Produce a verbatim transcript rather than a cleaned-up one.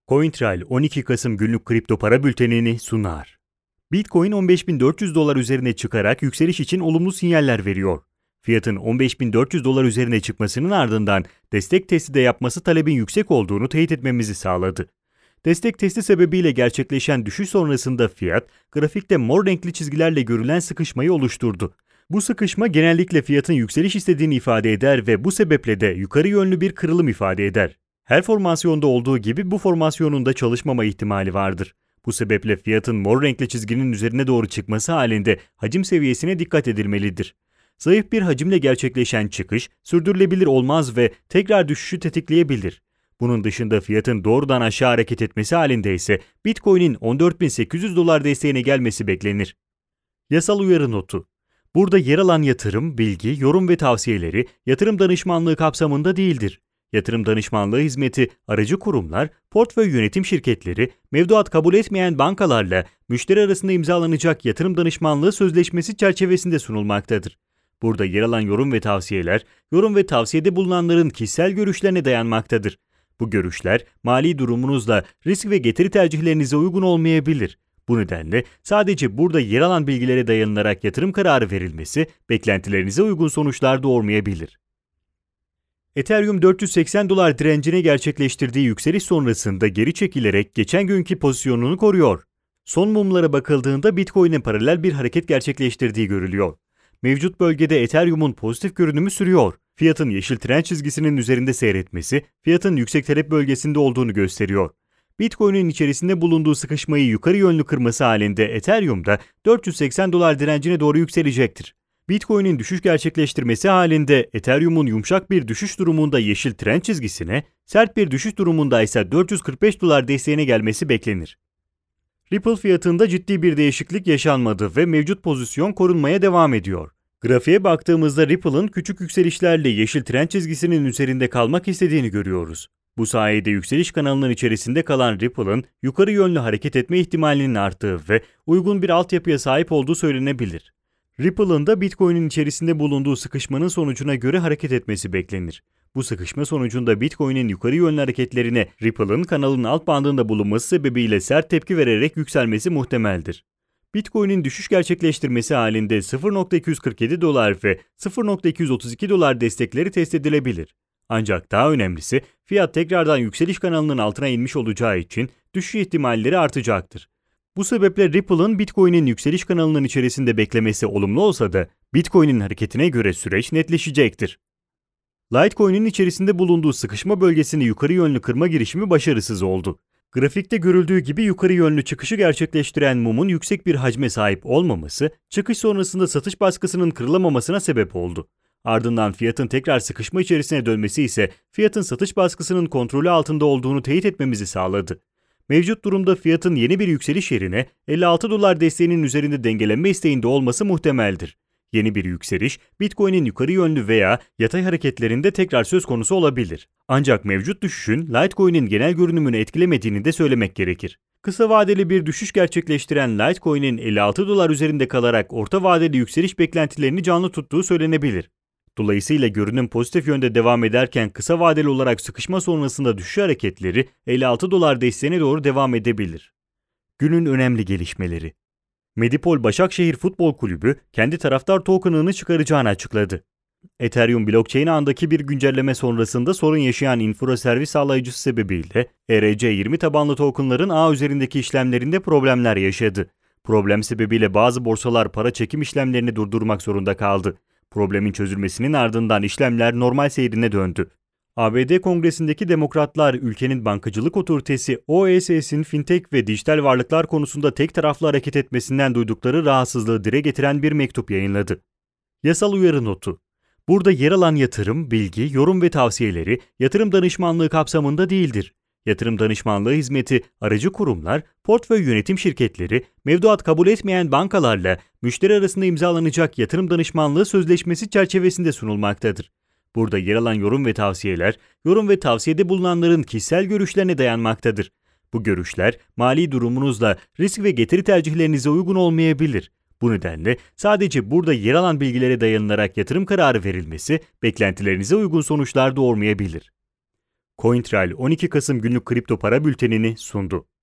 CoinTrail on iki Kasım günlük kripto para bültenini sunar. Bitcoin on beş bin dört yüz dolar üzerine çıkarak yükseliş için olumlu sinyaller veriyor. Fiyatın on beş bin dört yüz dolar üzerine çıkmasının ardından destek testi de yapması talebin yüksek olduğunu teyit etmemizi sağladı. Destek testi sebebiyle gerçekleşen düşüş sonrasında fiyat, grafikte mor renkli çizgilerle görülen sıkışmayı oluşturdu. Bu sıkışma genellikle fiyatın yükseliş istediğini ifade eder ve bu sebeple de yukarı yönlü bir kırılım ifade eder. Her formasyonda olduğu gibi bu formasyonun da çalışmama ihtimali vardır. Bu sebeple fiyatın mor renkli çizginin üzerine doğru çıkması halinde hacim seviyesine dikkat edilmelidir. Zayıf bir hacimle gerçekleşen çıkış sürdürülebilir olmaz ve tekrar düşüşü tetikleyebilir. Bunun dışında fiyatın doğrudan aşağı hareket etmesi halinde ise Bitcoin'in on dört bin sekiz yüz dolar desteğine gelmesi beklenir. Yasal uyarı notu. Burada yer alan yatırım, bilgi, yorum ve tavsiyeleri yatırım danışmanlığı kapsamında değildir. Yatırım danışmanlığı hizmeti aracı kurumlar, portföy yönetim şirketleri, mevduat kabul etmeyen bankalarla müşteri arasında imzalanacak yatırım danışmanlığı sözleşmesi çerçevesinde sunulmaktadır. Burada yer alan yorum ve tavsiyeler, yorum ve tavsiyede bulunanların kişisel görüşlerine dayanmaktadır. Bu görüşler mali durumunuzla risk ve getiri tercihlerinize uygun olmayabilir. Bu nedenle sadece burada yer alan bilgilere dayanılarak yatırım kararı verilmesi beklentilerinize uygun sonuçlar doğurmayabilir. Ethereum dört yüz seksen dolar direncine gerçekleştirdiği yükseliş sonrasında geri çekilerek geçen günkü pozisyonunu koruyor. Son mumlara bakıldığında Bitcoin'e paralel bir hareket gerçekleştirdiği görülüyor. Mevcut bölgede Ethereum'un pozitif görünümü sürüyor. Fiyatın yeşil trend çizgisinin üzerinde seyretmesi, fiyatın yüksek talep bölgesinde olduğunu gösteriyor. Bitcoin'in içerisinde bulunduğu sıkışmayı yukarı yönlü kırması halinde Ethereum'da dört yüz seksen dolar direncine doğru yükselecektir. Bitcoin'in düşüş gerçekleştirmesi halinde Ethereum'un yumuşak bir düşüş durumunda yeşil trend çizgisine, sert bir düşüş durumunda ise dört yüz kırk beş dolar desteğine gelmesi beklenir. Ripple fiyatında ciddi bir değişiklik yaşanmadı ve mevcut pozisyon korunmaya devam ediyor. Grafiğe baktığımızda Ripple'ın küçük yükselişlerle yeşil trend çizgisinin üzerinde kalmak istediğini görüyoruz. Bu sayede yükseliş kanalının içerisinde kalan Ripple'ın yukarı yönlü hareket etme ihtimalinin arttığı ve uygun bir altyapıya sahip olduğu söylenebilir. Ripple'ın da Bitcoin'in içerisinde bulunduğu sıkışmanın sonucuna göre hareket etmesi beklenir. Bu sıkışma sonucunda Bitcoin'in yukarı yönlü hareketlerine Ripple'ın kanalının alt bandında bulunması sebebiyle sert tepki vererek yükselmesi muhtemeldir. Bitcoin'in düşüş gerçekleştirmesi halinde sıfır nokta iki yüz kırk yedi dolar ve sıfır nokta iki yüz otuz iki dolar destekleri test edilebilir. Ancak daha önemlisi fiyat tekrardan yükseliş kanalının altına inmiş olacağı için düşüş ihtimalleri artacaktır. Bu sebeple Ripple'ın Bitcoin'in yükseliş kanalının içerisinde beklemesi olumlu olsa da Bitcoin'in hareketine göre süreç netleşecektir. Litecoin'in içerisinde bulunduğu sıkışma bölgesini yukarı yönlü kırma girişimi başarısız oldu. Grafikte görüldüğü gibi yukarı yönlü çıkışı gerçekleştiren mumun yüksek bir hacme sahip olmaması, çıkış sonrasında satış baskısının kırılamamasına sebep oldu. Ardından fiyatın tekrar sıkışma içerisine dönmesi ise fiyatın satış baskısının kontrolü altında olduğunu teyit etmemizi sağladı. Mevcut durumda fiyatın yeni bir yükseliş yerine elli altı dolar desteğinin üzerinde dengelenme isteğinde olması muhtemeldir. Yeni bir yükseliş, Bitcoin'in yukarı yönlü veya yatay hareketlerinde tekrar söz konusu olabilir. Ancak mevcut düşüşün Litecoin'in genel görünümünü etkilemediğini de söylemek gerekir. Kısa vadeli bir düşüş gerçekleştiren Litecoin'in elli altı dolar üzerinde kalarak orta vadeli yükseliş beklentilerini canlı tuttuğu söylenebilir. Dolayısıyla görünüm pozitif yönde devam ederken kısa vadeli olarak sıkışma sonrasında düşüş hareketleri elli altı dolar desteğine doğru devam edebilir. Günün önemli gelişmeleri. Medipol Başakşehir Futbol Kulübü kendi taraftar token'ını çıkaracağını açıkladı. Ethereum blockchain ağındaki bir güncelleme sonrasında sorun yaşayan infra servis sağlayıcısı sebebiyle E R C yirmi tabanlı token'ların ağ üzerindeki işlemlerinde problemler yaşadı. Problem sebebiyle bazı borsalar para çekim işlemlerini durdurmak zorunda kaldı. Problemin çözülmesinin ardından işlemler normal seyrine döndü. A B D Kongresi'ndeki demokratlar ülkenin bankacılık otoritesi O E C S'in fintech ve dijital varlıklar konusunda tek taraflı hareket etmesinden duydukları rahatsızlığı dile getiren bir mektup yayınladı. Yasal uyarı notu. Burada yer alan yatırım, bilgi, yorum ve tavsiyeleri yatırım danışmanlığı kapsamında değildir. Yatırım danışmanlığı hizmeti aracı kurumlar, portföy yönetim şirketleri, mevduat kabul etmeyen bankalarla müşteri arasında imzalanacak yatırım danışmanlığı sözleşmesi çerçevesinde sunulmaktadır. Burada yer alan yorum ve tavsiyeler, yorum ve tavsiyede bulunanların kişisel görüşlerine dayanmaktadır. Bu görüşler mali durumunuzla risk ve getiri tercihlerinize uygun olmayabilir. Bu nedenle sadece burada yer alan bilgilere dayanılarak yatırım kararı verilmesi beklentilerinize uygun sonuçlar doğurmayabilir. CoinTrail on iki Kasım günlük kripto para bültenini sundu.